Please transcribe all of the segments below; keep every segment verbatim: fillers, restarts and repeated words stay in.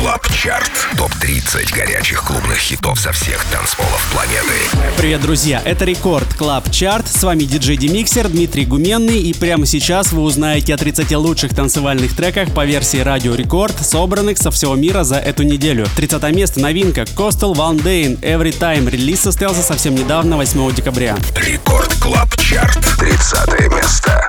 Клаб Чарт. топ тридцать горячих клубных хитов со всех танцполов планеты. Привет, друзья! Это Рекорд Клаб Чарт. С вами диджей Демиксер Дмитрий Гуменный. И прямо сейчас вы узнаете о тридцати лучших танцевальных треках по версии Радио Рекорд, собранных со всего мира за эту неделю. тридцатое место. Новинка Coastal One Day Every Time. Релиз состоялся совсем недавно, восьмого декабря. Рекорд Клаб Чарт. тридцатое место.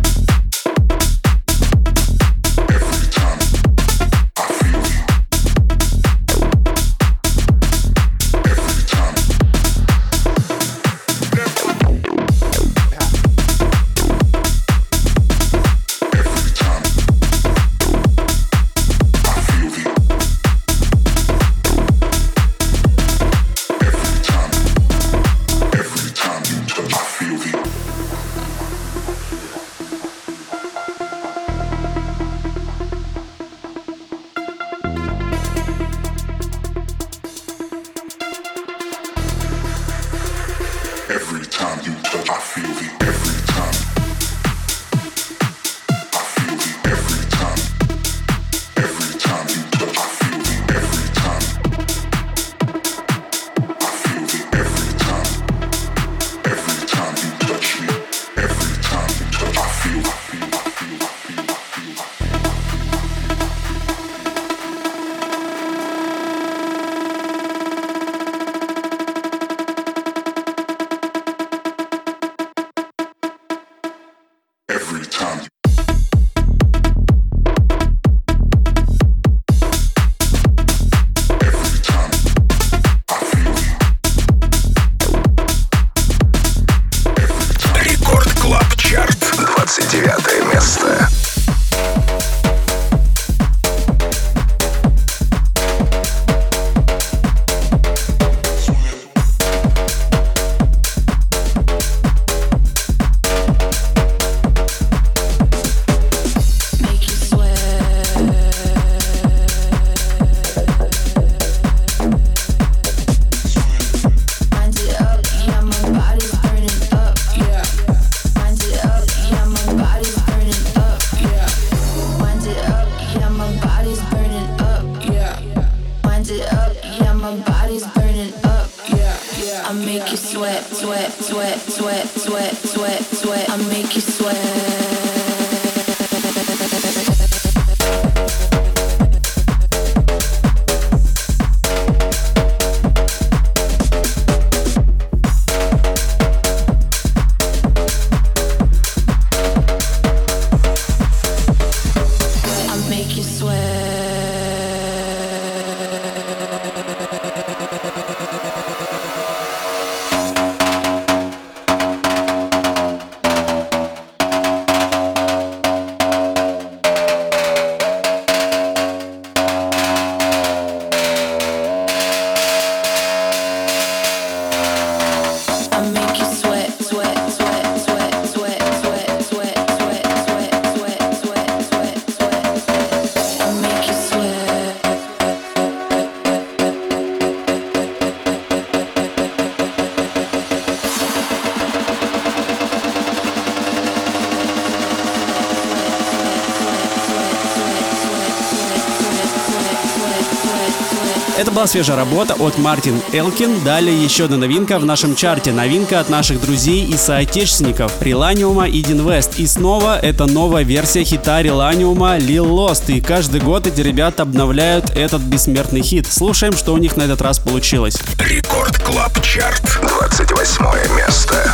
Это была свежая работа от Мартин Элкин. Далее еще одна новинка в нашем чарте. Новинка от наших друзей и соотечественников Реланиума и Динвест. И снова это новая версия хита Реланиума Lil Lost. И каждый год эти ребята обновляют этот бессмертный хит. Слушаем, что у них на этот раз получилось. Рекорд Клаб Чарт. двадцать восьмое место.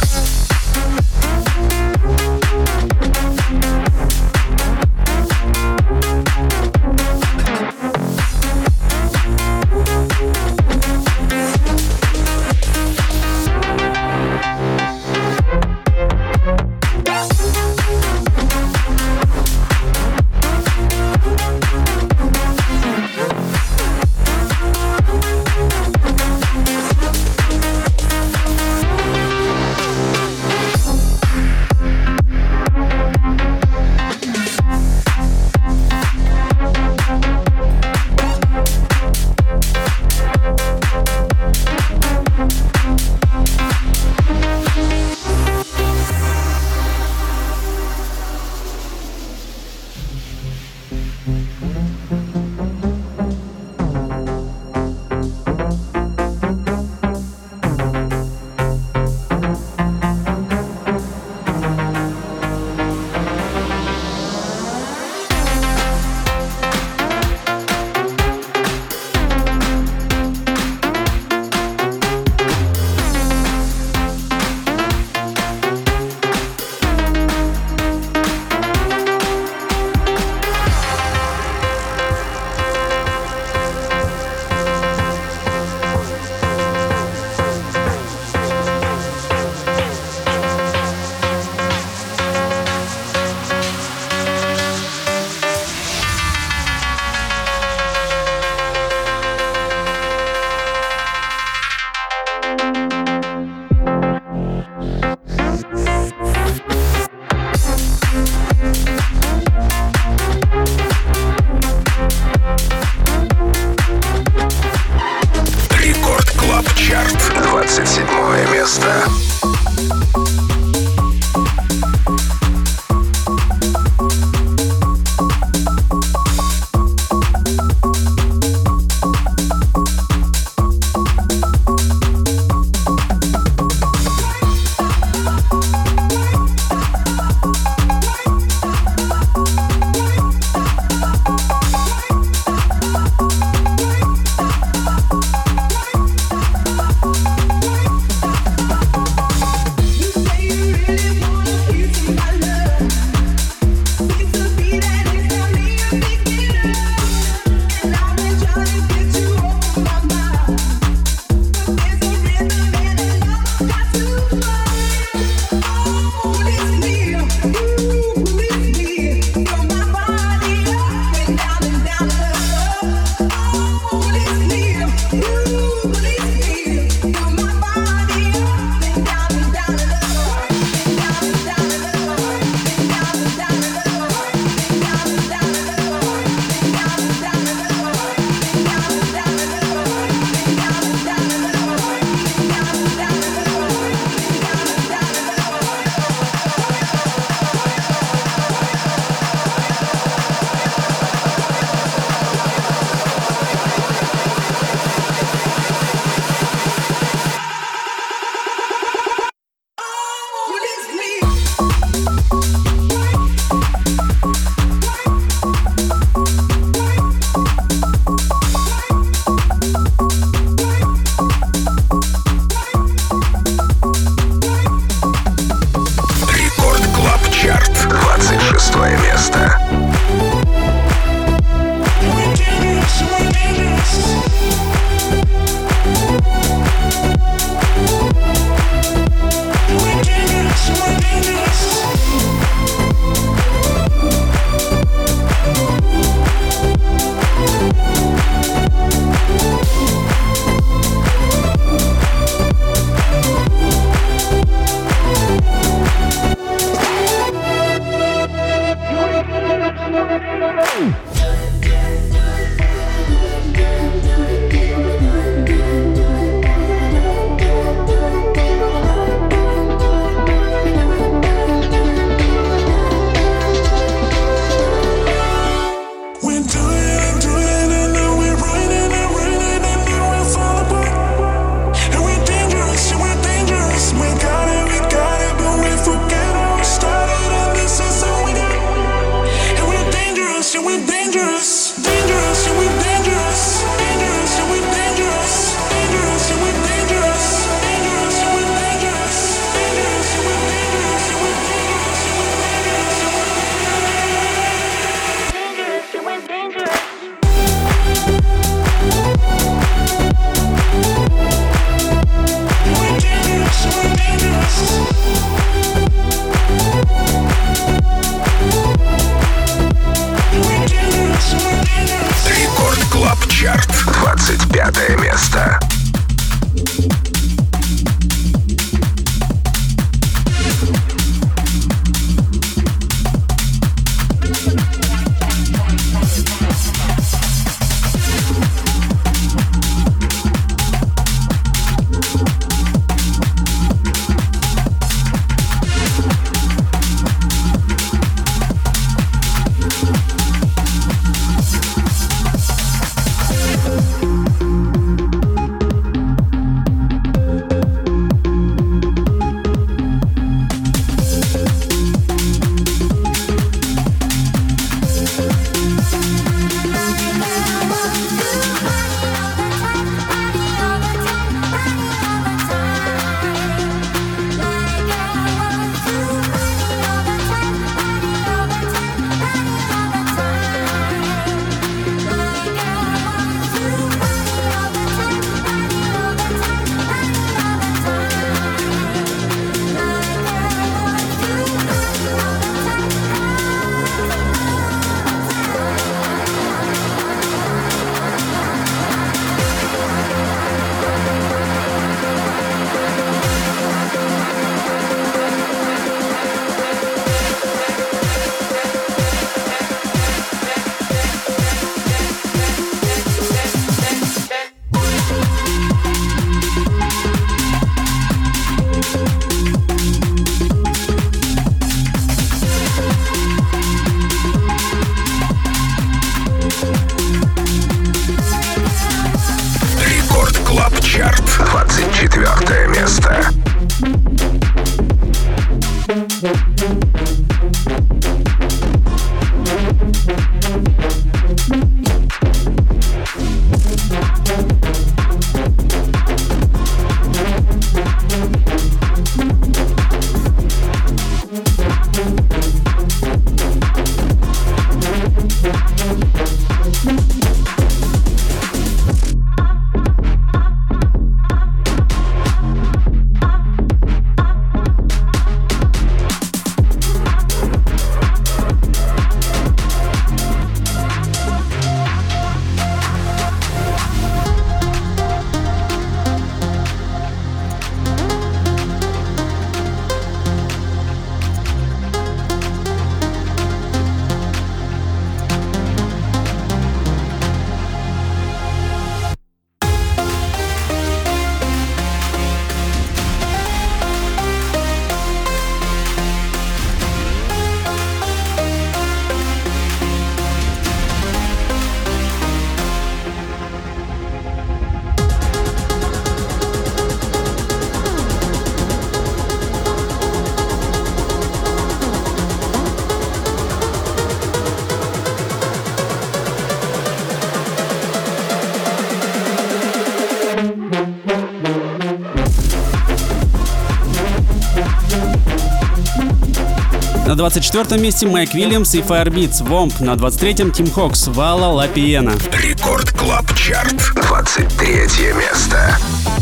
место. место. На двадцать четвёртом месте Майк Уильямс и Firebeatz, Вомп. На двадцать третьем Тим Хокс, Вала Ла Пиена. Рекорд Клаб Чарт, двадцать третье место.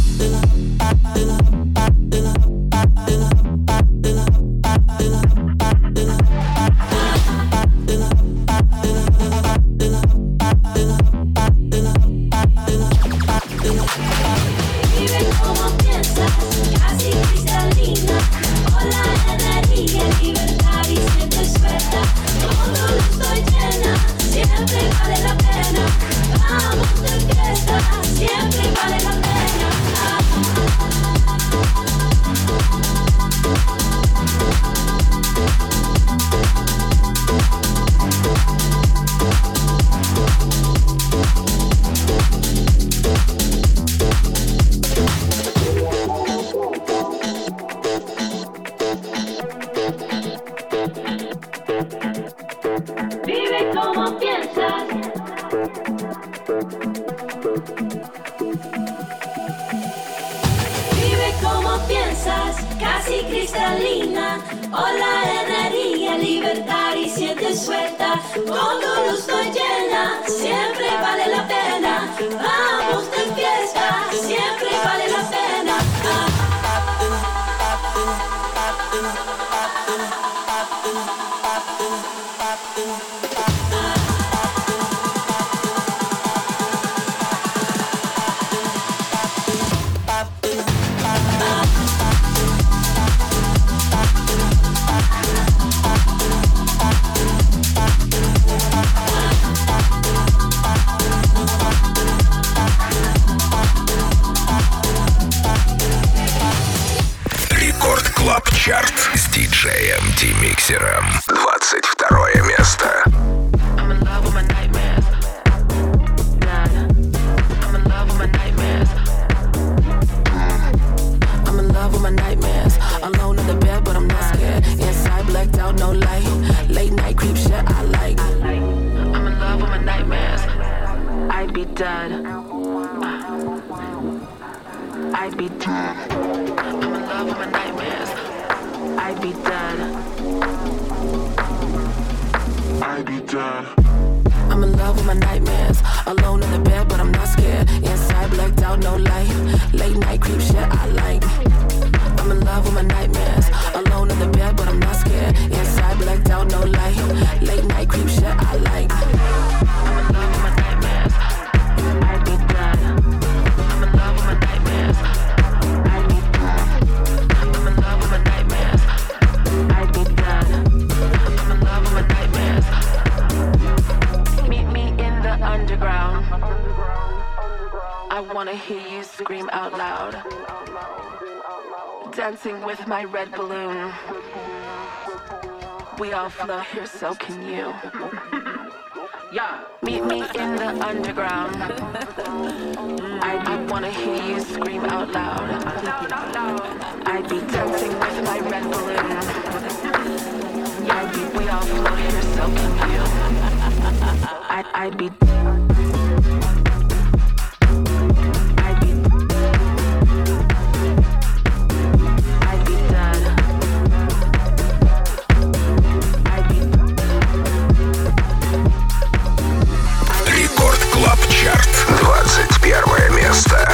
Чарт с диджеем Ди-Миксером. двадцать второе место. I'd be dead. I'm in love with my nightmares. I'd be dead. I'd be dead. I'm in love with my nightmares. Alone in the bed, but I'm not scared. Inside, blacked out, no light. Late night creep shit I like. I'm in love with my nightmares. Alone in the bed, but I'm not scared. Inside, blacked out, no light. Late night creep shit I like. I'm in love with my nightmares. I'd be dead. I'm in love with my nightmares. I'd be dead. I'm in love with my nightmares. I'd be dead. I'm in love with my nightmares. Meet me in the underground. I wanna hear you scream out loud. Dancing with my red balloon. We all float here, so can you. Meet me in the underground. I, I wanna hear you scream out loud. I'd be dancing with my red balloon. I'd be, we all float here, so can you. I'd, I'd be. двадцать первое место.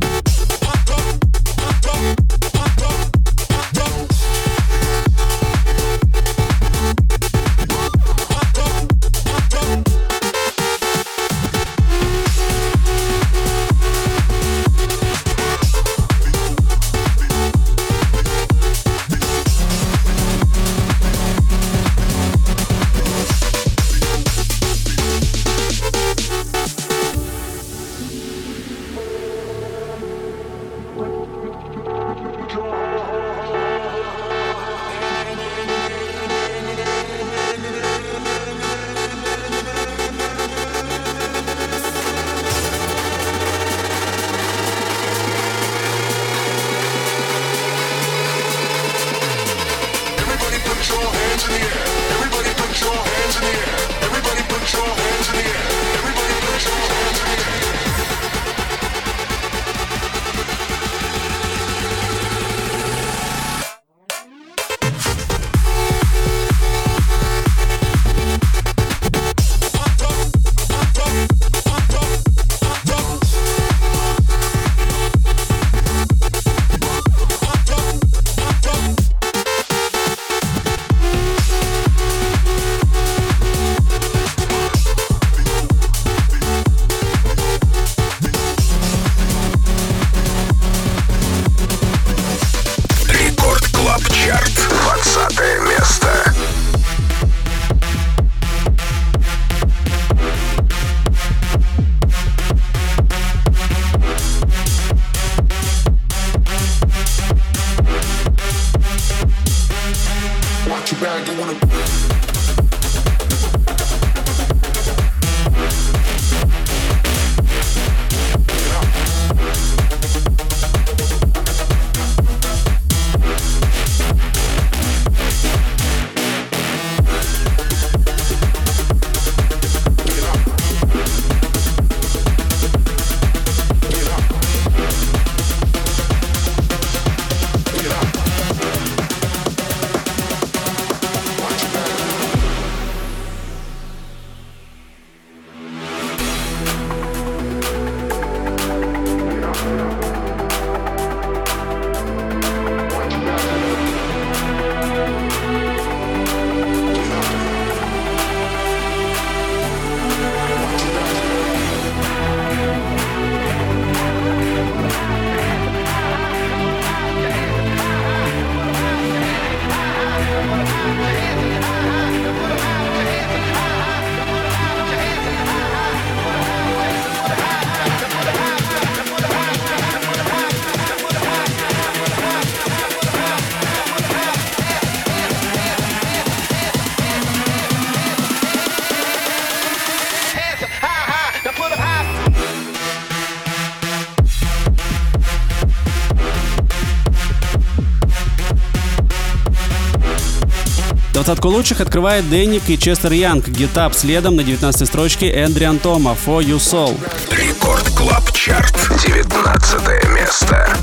Двадцатку лучших открывает Дэнник и Честер Янг. Get Up следом на девятнадцатой строчке Эндриан Тома For You Soul. Рекорд Клаб Чарт, девятнадцатое место.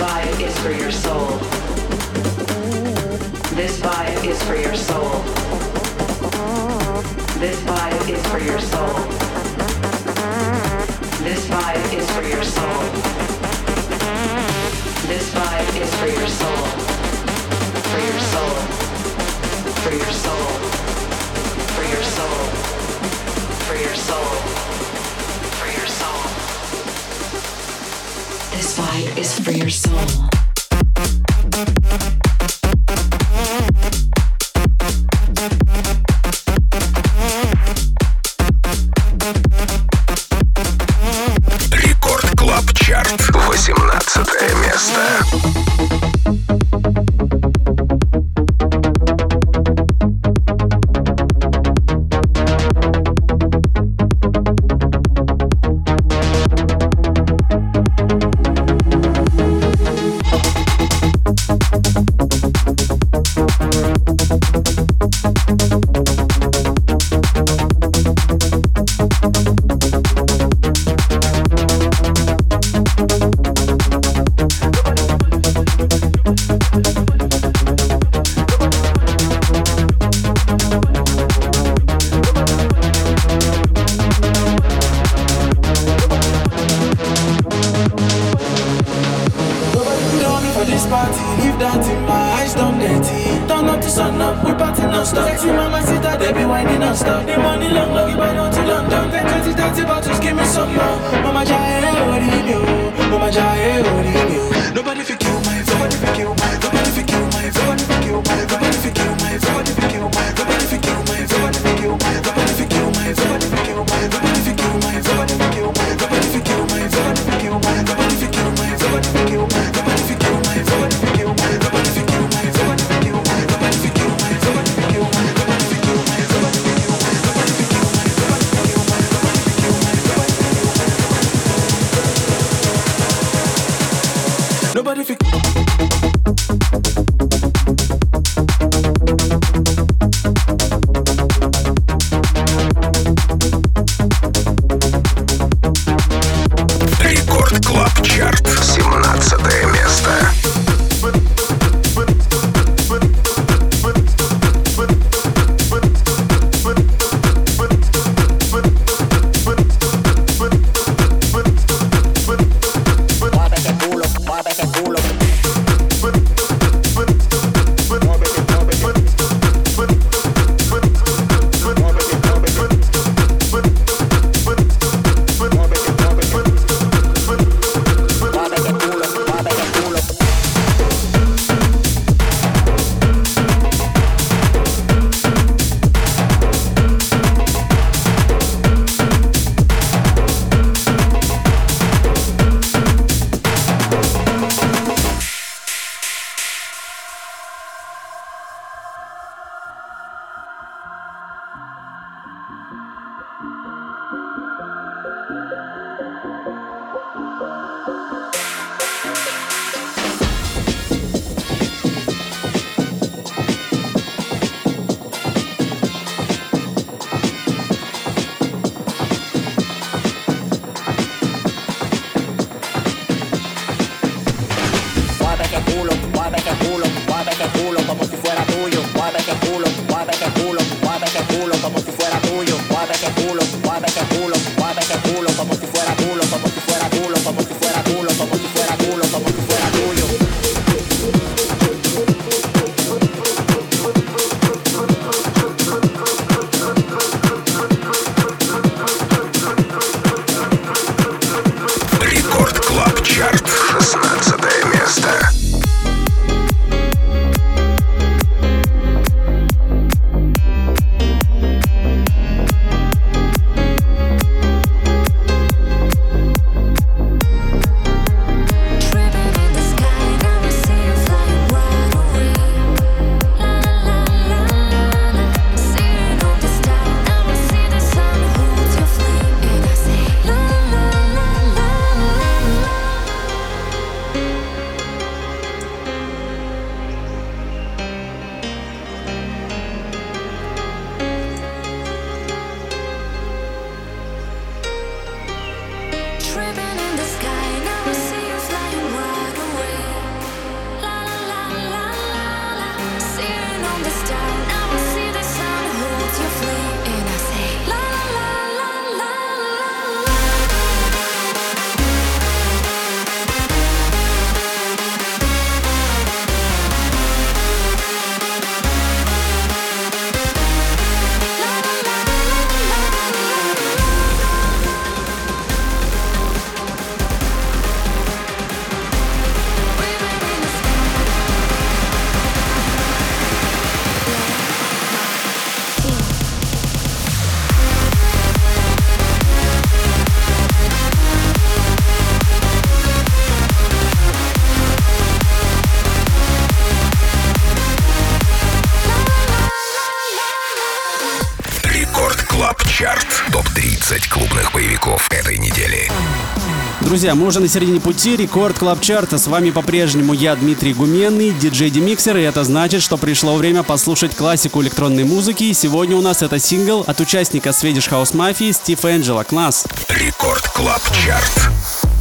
vibe is for your soul. This vibe is for your soul. This vibe is for your soul. This vibe is for your soul. This vibe is for your soul. For your soul. For your soul. For your soul. For your soul. For your soul. This vibe is for your soul. восемнадцатое место. Чарт, шестнадцатое место. этой недели. Друзья, мы уже на середине пути Рекорд Клаб Чарта. С вами по-прежнему я, Дмитрий Гуменный, диджей Демиксер, и это значит, что пришло время послушать классику электронной музыки. И сегодня у нас это сингл от участника Swedish House Mafia Стив Энджело. Класс! Рекорд Клаб Чарт.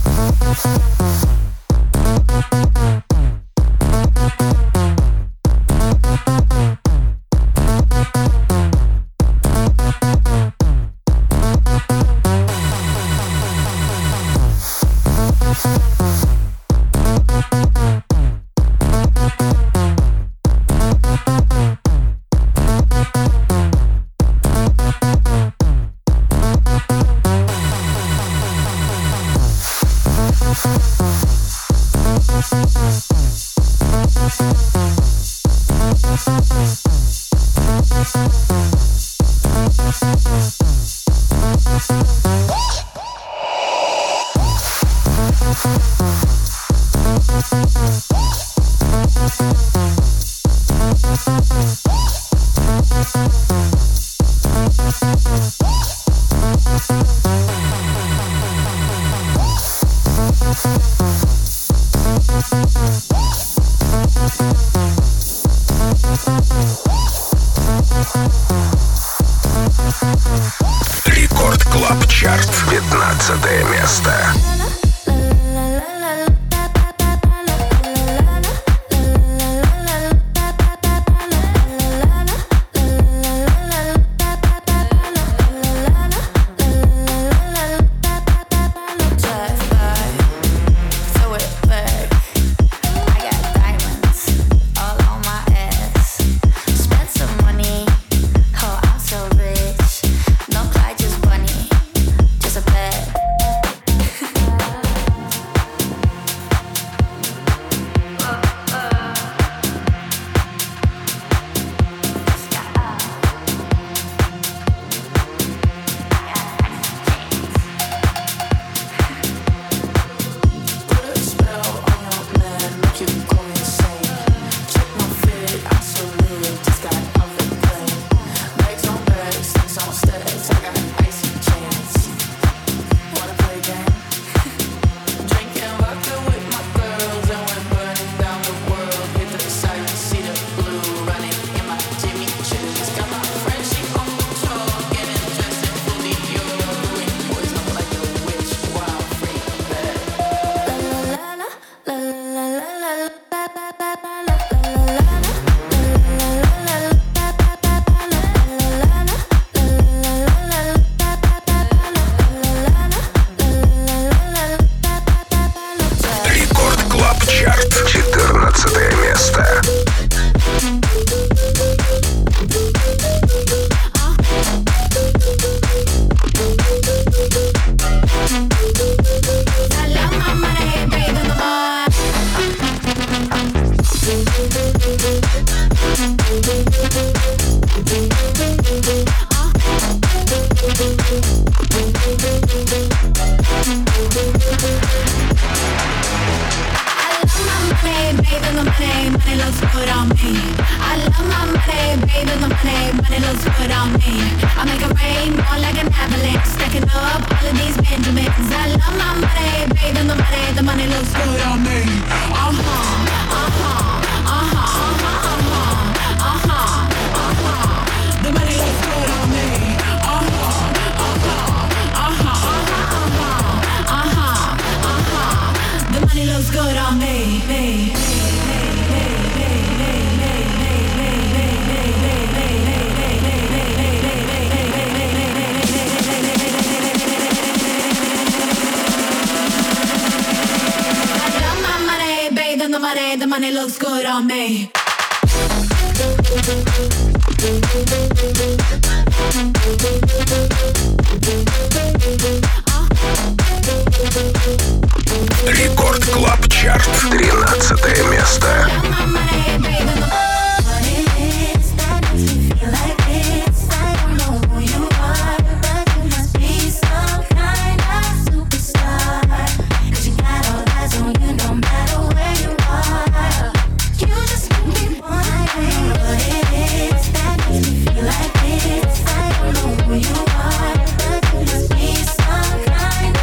Рекорд Клаб Чарт. пятнадцатое место. The money looks good on me. Рекорд Клаб Чарт. тринадцатое место. Like this, I don't know who you are, but you must be some kind of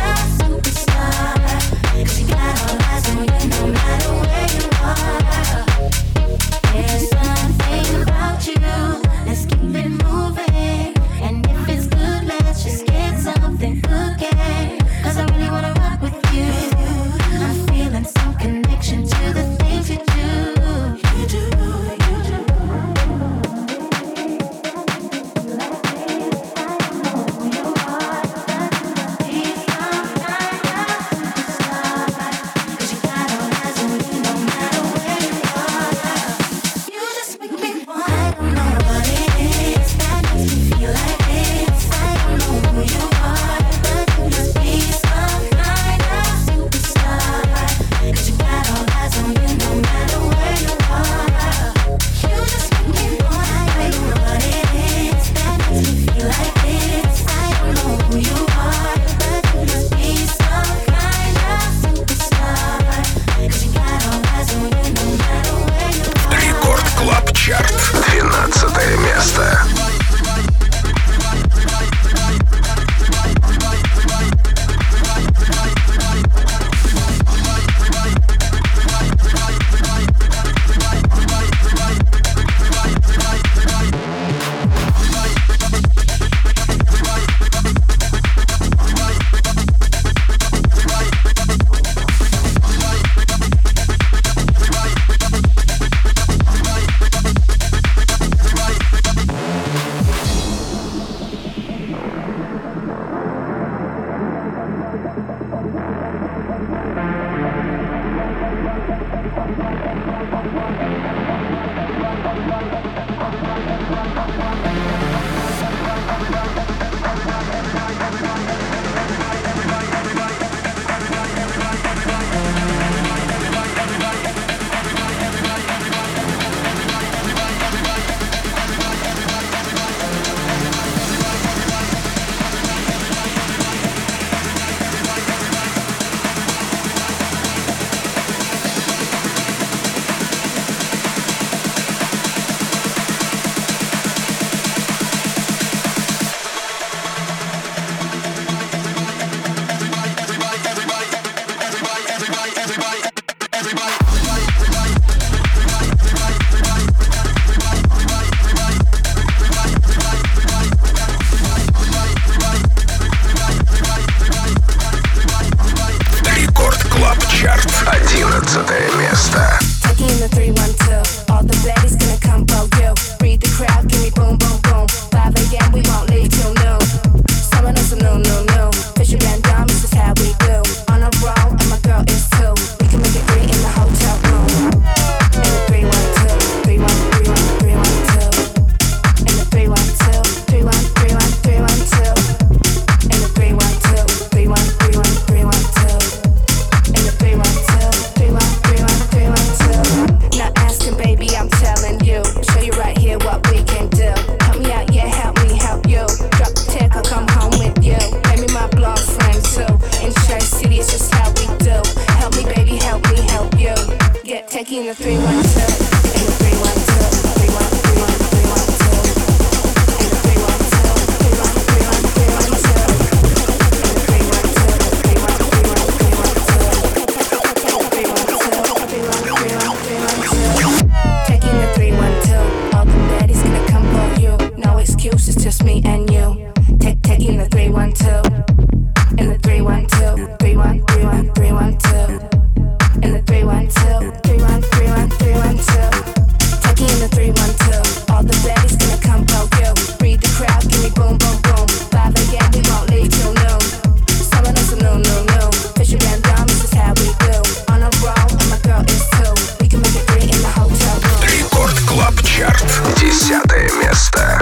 Рекорд Клаб Чарт. Одиннадцатое место. Taking the three one two, all the baddies gonna come for you. Read the crowd, give me boom boom boom. five a.m. we won't leave till noon. Summer knows some no no no. Fisher and dumb, this is how we do. On a roll, and my girl is too. We can make it great in the hotel room. And the three one two, three one three one three one two. And the three one two, three one three one three one two. And the three one two, three one three one three one two. And the three one two, three one three one three one two. Not asking, baby, I'm telling you. Show you right here what we can do. Help me out, yeah, help me help you. Drop the tech, I'll come home with you. Make me my blonde friend too. In Church City, it's just how we do. Help me, baby, help me help you. Get taking the three one two. And the three one two, three one three one three one two. And the three one two, three one three one three one two. And the three one two, three one three one three one two. three one two, three one three one three one two. Taking the three one two, all the baddies gonna come for you. No excuses, just me and you. Take taking the three one two, and the three one two, three one three one three one two, and the three one two, three one three one three one two. Taking the three one two, all the baddies gonna come for you. Read the crowd, give me boom boom boom. five a.m. we won't leave till noon. Summer knows some no no no. Fisher and dumb, this is how we do. On a roll, and my girl is too. We can make it great in the hotel room. Рекорд Клаб Чарт. Десятое место.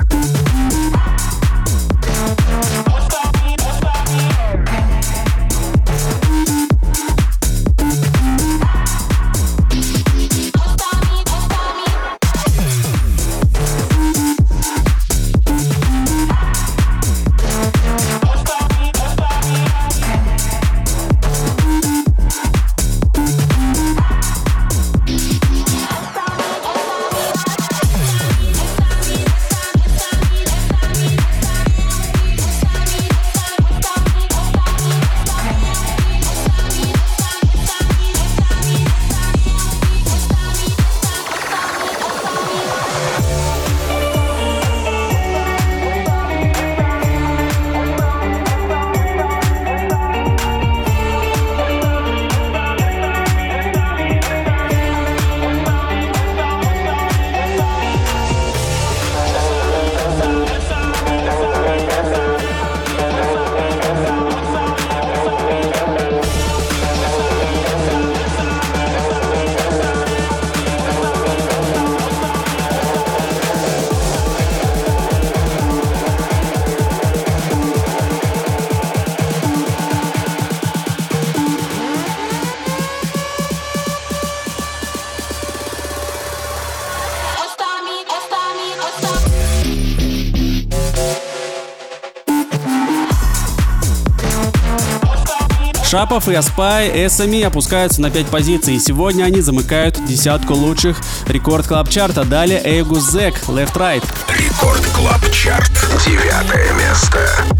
Шапов и Аспай эс эм и опускаются на пять позиций. Сегодня они замыкают десятку лучших Рекорд Клаб Чарта. Далее Эйгу Зек, Left Right. Рекорд Клаб Чарт. Девятое место.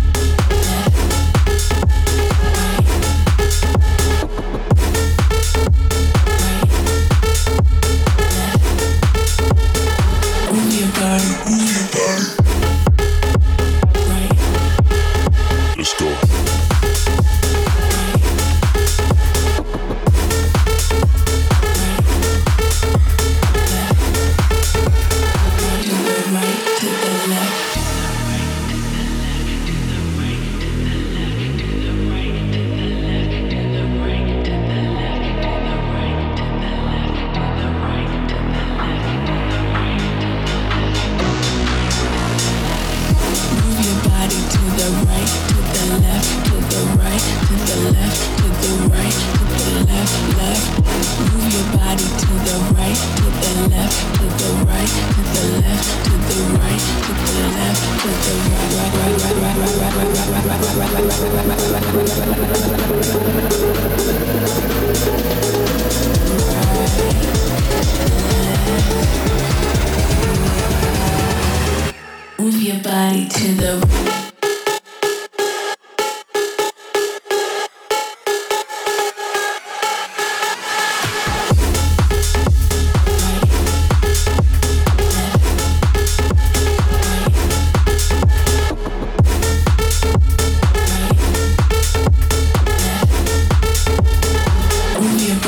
Move your body to the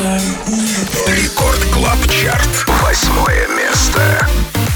Рекорд Клаб Чарт. Восьмое место.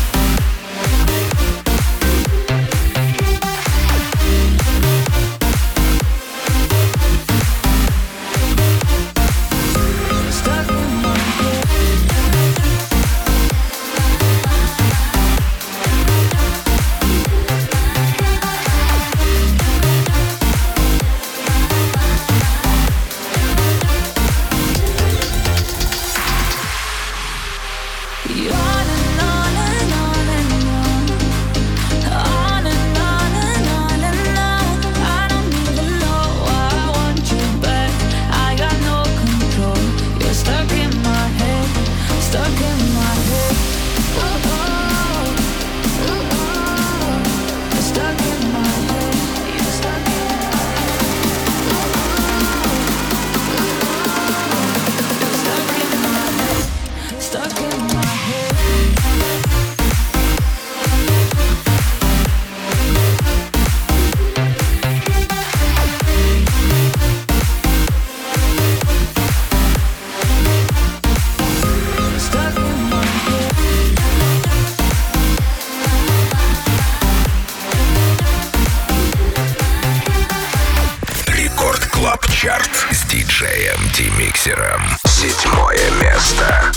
Чарт с диджеем Демиксером. Седьмое место.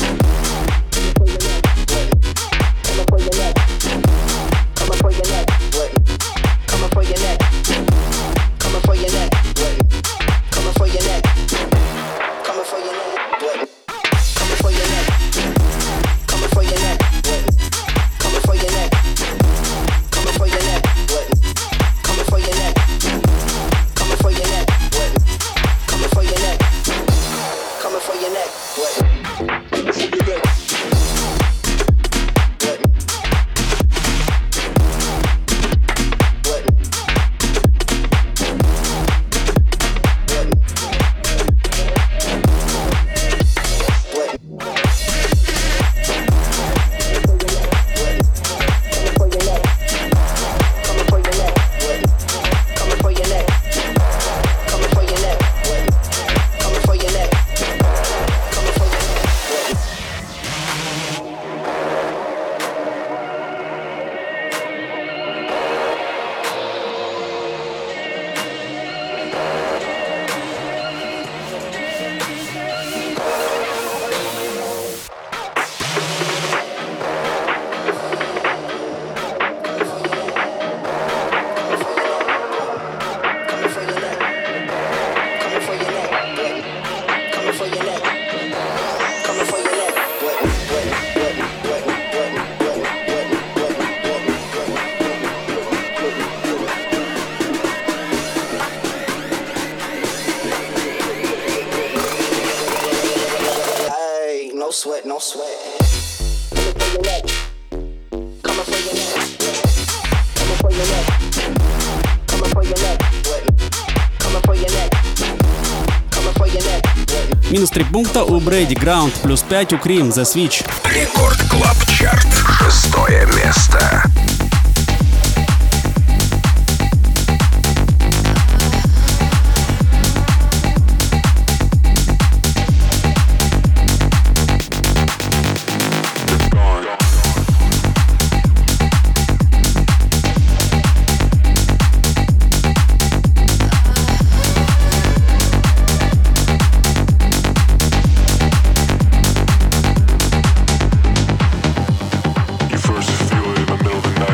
Sweat, no sweat. Минус три пункта у Брэди, Ground, плюс пять у Cream, The Switch. Рекорд Клаб Чарт. Шестое место. First feel it in the middle of the night.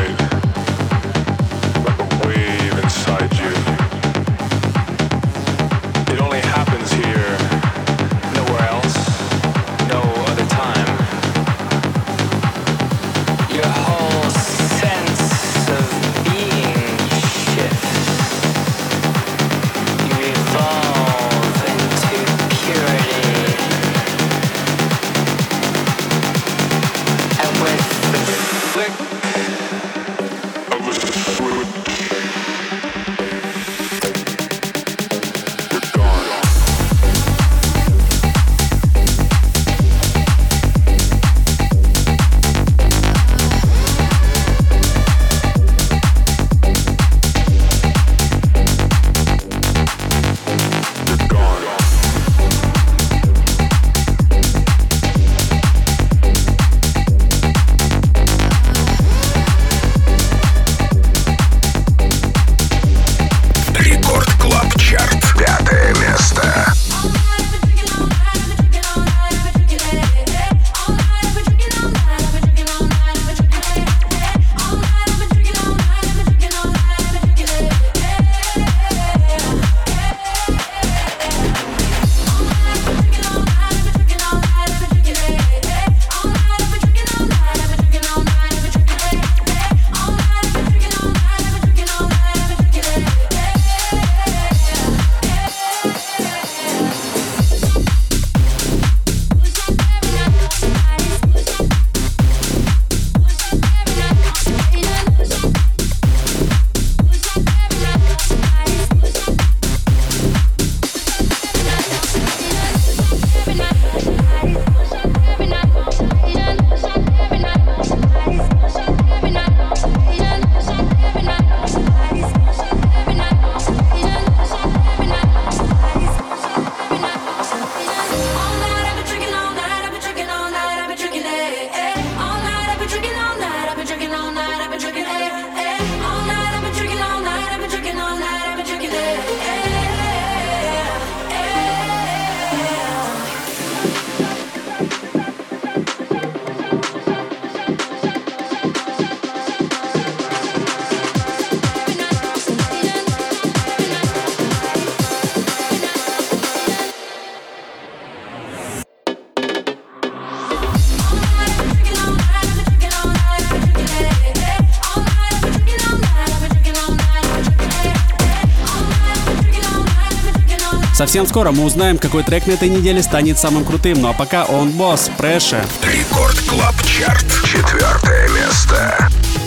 Совсем скоро мы узнаем, какой трек на этой неделе станет самым крутым. Ну а пока он босс, Pressure. Рекорд Клаб Чарт. Четвертое место.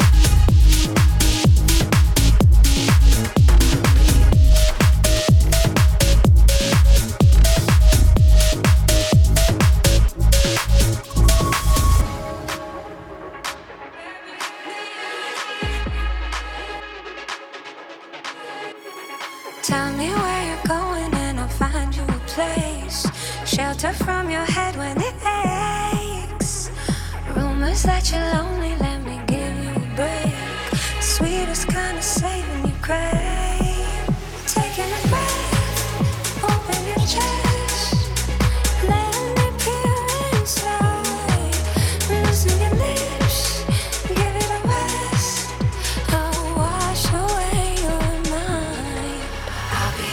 Tell me where you're going and I'll find you a place. Shelter from your head when it aches. Rumors that you're lonely, let me give you a break. Sweetest kind of saving you crave. Taking a breath, open your chest. Letting it pure inside. Loosen your lips, give it a rest. I'll wash away your mind. I'll be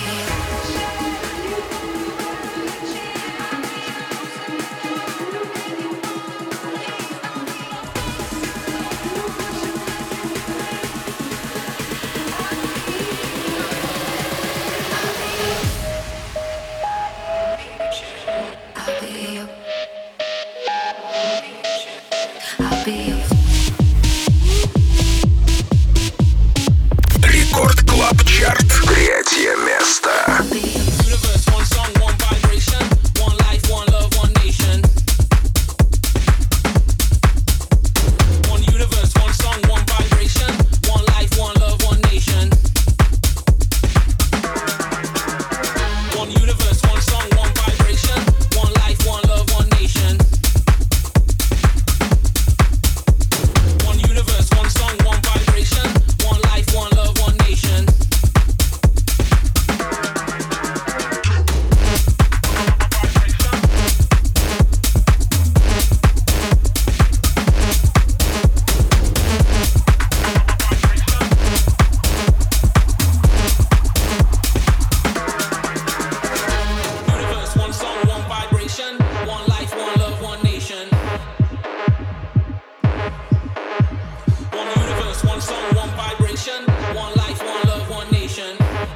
I'll be your Рекорд Клаб Чарт. Третье место. Universe, one song, one vibration, one life, one love, one nation. One universe, one song, one vibration, one life, one love, one nation. One universe, one song, one vibration, one life, one love, one nation. One universe, one song, one vibration, one life, one love, one nation. Universe, one song, one vibration, one life, one love, one nation. One universe, one song, one vibration, one life, one love, one nation.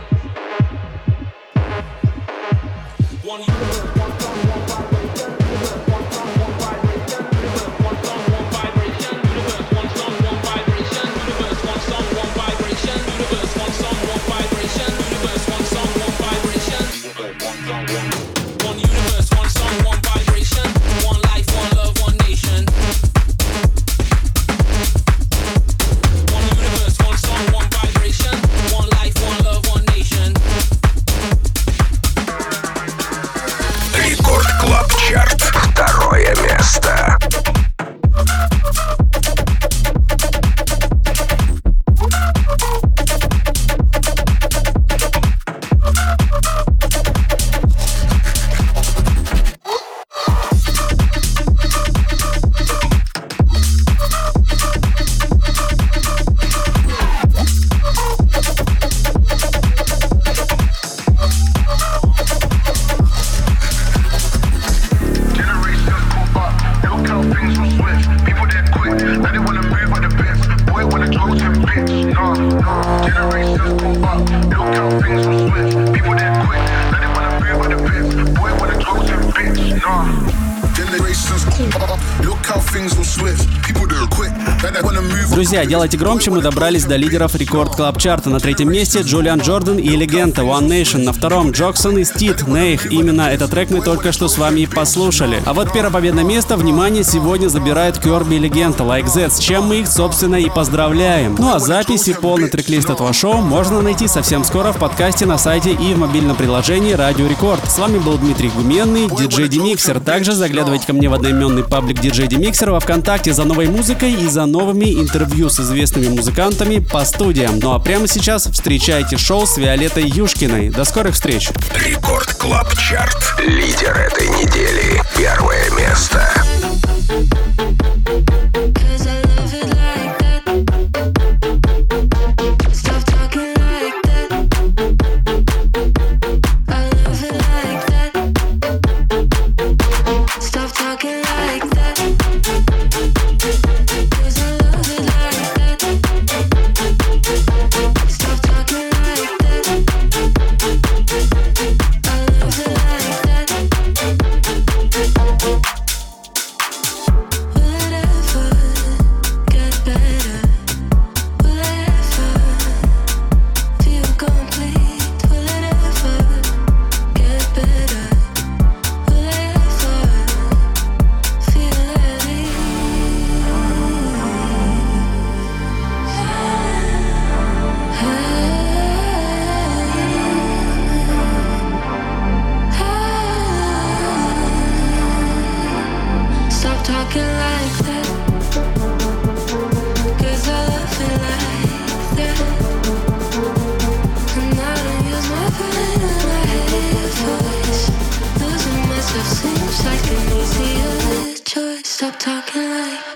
One universe, one song, one vibration, universe, one song, one vibration, universe, one song, one vibration, universe, one song, one vibration, universe, one song, one vibration, universe, one song, one vibration, universe, one song, one vibration. One universe, one song, one vibration, one life, one love, one nation. One universe, one song, one vibration, one life, one love, one nation. Рекорд Клаб Чарт. Второе место. Друзья, делайте громче, мы добрались до лидеров Рекорд Клаб Чарта. На третьем месте Джулиан Джордан и Легента One Nation. На втором Джоксон и Стит Нейх. Именно этот трек мы только что с вами и послушали. А вот первое победное место, внимание, сегодня забирает Кёрби и Легента Like That, с чем мы их, собственно, и поздравляем. Ну а запись и полный трек-лист этого шоу можно найти совсем скоро в подкасте на сайте и в мобильном приложении Радио Рекорд. С вами был Дмитрий Гуменный, диджей Демиксер. Также заглядывайте ко мне в одноименный паблик диджей Демиксер во ВКонтакте за новой музыкой и за новыми интервью с известными музыкантами по студиям. Ну а прямо сейчас встречайте шоу с Виолеттой Юшкиной. До скорых встреч! Рекорд Клаб Чарт. Лидер этой недели. Первое место. I talking like that. 'Cause I love it like that. And I don't use my brain and I hate your voice. Losing myself seems like an easier choice. Stop talking like